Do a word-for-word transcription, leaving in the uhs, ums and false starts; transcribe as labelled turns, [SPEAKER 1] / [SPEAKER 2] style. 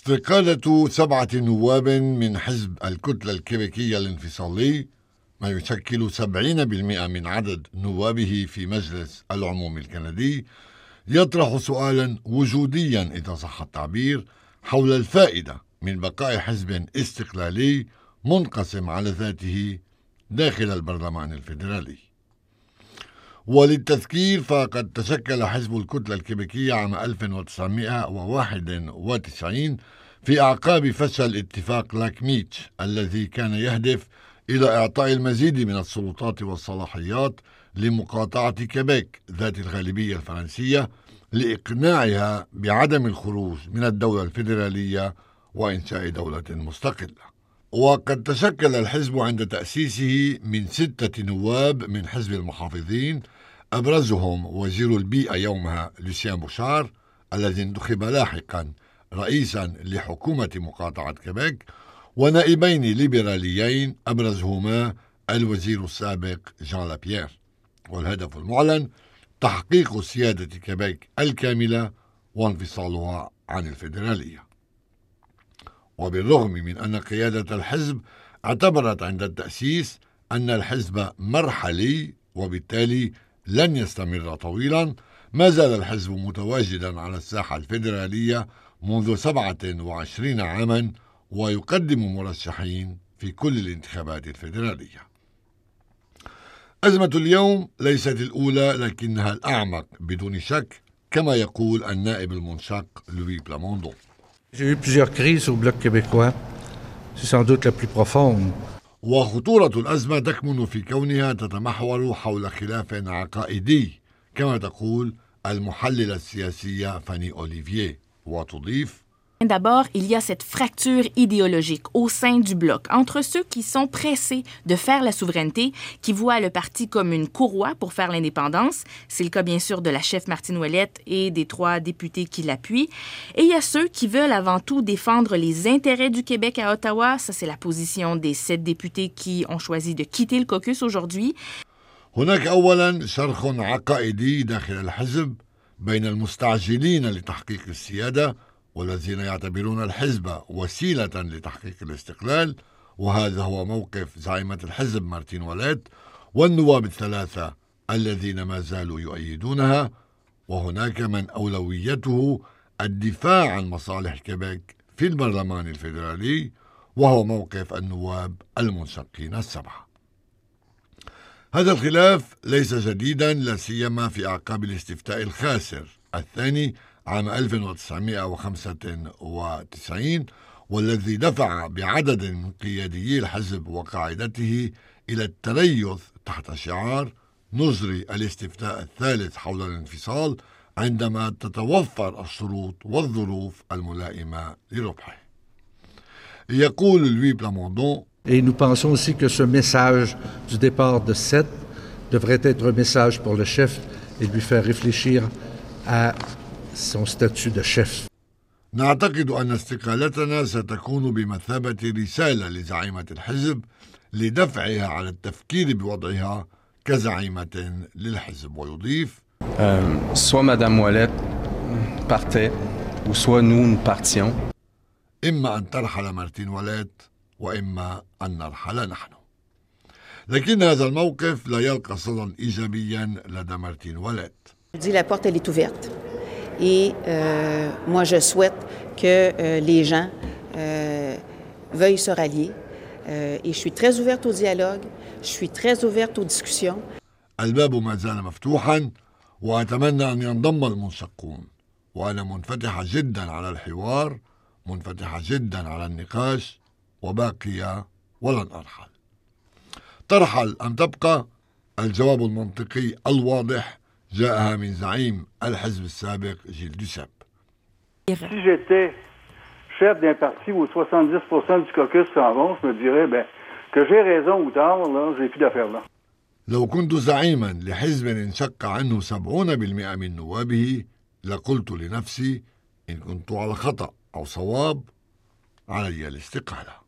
[SPEAKER 1] استقالة سبعة نواب من حزب الكتلة الكيبيكية الانفصالي، ما يشكل سبعين بالمئة من عدد نوابه في مجلس العموم الكندي، يطرح سؤالا وجوديا إذا صح التعبير حول الفائدة من بقاء حزب استقلالي منقسم على ذاته داخل البرلمان الفيدرالي. وللتذكير فقد تشكل حزب الكتلة الكيبيكية عام ألف وتسعمئة وواحد وتسعين في أعقاب فشل اتفاق لاكميتش الذي كان يهدف إلى إعطاء المزيد من السلطات والصلاحيات لمقاطعة كيبيك ذات الغالبية الفرنسية لإقناعها بعدم الخروج من الدولة الفيدرالية وإنشاء دولة مستقلة. وقد تشكل الحزب عند تأسيسه من ستة نواب من حزب المحافظين، أبرزهم وزير البيئة يومها لوسيان بوشار الذي انتخب لاحقا رئيسا لحكومة مقاطعة كيبيك، ونائبين ليبراليين أبرزهما الوزير السابق جان لابيير. والهدف المعلن تحقيق سيادة كيبيك الكاملة وانفصالها عن الفيدرالية. وبالرغم من أن قيادة الحزب اعتبرت عند التأسيس أن الحزب مرحلي وبالتالي لن يستمر طويلا، ما زال الحزب متواجدا على الساحة الفيدرالية منذ سبعة وعشرين عاما ويقدم مرشحين في كل الانتخابات الفيدرالية. أزمة اليوم ليست الأولى لكنها الأعمق بدون شك، كما يقول النائب المنشق لوي بلاموندون.
[SPEAKER 2] J'ai eu plusieurs crises au Bloc québécois. C'est sans doute la plus profonde.
[SPEAKER 1] وخطورة الأزمة تكمن في كونها تتمحور حول خلاف عقائدي، كما تقول المحللة السياسية فاني أوليفييه، وتضيف:
[SPEAKER 3] D'abord, il y a cette fracture idéologique au sein du bloc entre ceux qui sont pressés de faire la souveraineté, qui voient le parti comme une courroie pour faire l'indépendance. C'est le cas bien sûr de la chef Martine Ouellette et des trois députés qui l'appuient. Et il y a ceux qui veulent avant tout défendre les intérêts du Québec à Ottawa. Ça, c'est la position des sept députés qui ont choisi de quitter le caucus aujourd'hui.
[SPEAKER 1] هناك أولا شرخ عقائدي داخل الحزب بين المستعجلين لتحقيق السيادة والذين يعتبرون الحزب وسيلة لتحقيق الاستقلال، وهذا هو موقف زعيمة الحزب مارتين أوليت والنواب الثلاثة الذين ما زالوا يؤيدونها. وهناك من أولويته الدفاع عن مصالح كيبيك في البرلمان الفيدرالي، وهو موقف النواب المنشقين السبعة. هذا الخلاف ليس جديدا، لا سيما في أعقاب الاستفتاء الخاسر الثاني عام ألف وتسعمئة وخمسة وتسعين، والذي دفع بعدد من قياديي الحزب وقاعدته إلى التريث تحت شعار نجري الاستفتاء الثالث حول الانفصال عندما تتوفر الشروط والظروف الملائمة لربحه. يقول لوي بلاموندون:
[SPEAKER 2] Et nous pensons aussi que ce message du départ de sept devrait être un message pour le chef et lui faire réfléchir à son statut de chef.
[SPEAKER 1] نعتقد أن استقالتنا ستكون بمثابة رسالة لزعيمة الحزب لدفعها على التفكير بوضعها كزعيمة للحزب. ويضيف:
[SPEAKER 4] euh, soit Madame Ouellette partait ou soit nous nous partions.
[SPEAKER 1] إما أن ترحل مارتين أوليت وإما أن نرحل نحن. لكن هذا الموقف لا يلقى صدى إيجابيا لدى مارتين أوليت.
[SPEAKER 5] La porte elle est ouverte et euh, moi je souhaite que euh, les gens euh, veuillent se rallier euh, et je suis très ouverte au dialogue, je suis très ouverte aux discussions.
[SPEAKER 1] الباب ما زال مفتوحا وأتمنى أن ينضم المنشقون، وأنا منفتحة جدا على الحوار، منفتحة جدا على النقاش، وباقية ولن أرحل. ترحل أم تبقى؟ الجواب المنطقي الواضح جاءها من زعيم الحزب السابق جيل دوساب.
[SPEAKER 6] Si j'étais chef d'un parti où soixante-dix pour cent du caucus s'en vont, je me dirais ben, que j'ai raison ou tort, là, j'ai plus d'affaires là.
[SPEAKER 1] لو كنت زعيما لحزب انشق عنه سبعون بالمئة من نوابه لقلت لنفسي إن كنت على خطأ أو صواب علي الاستقالة.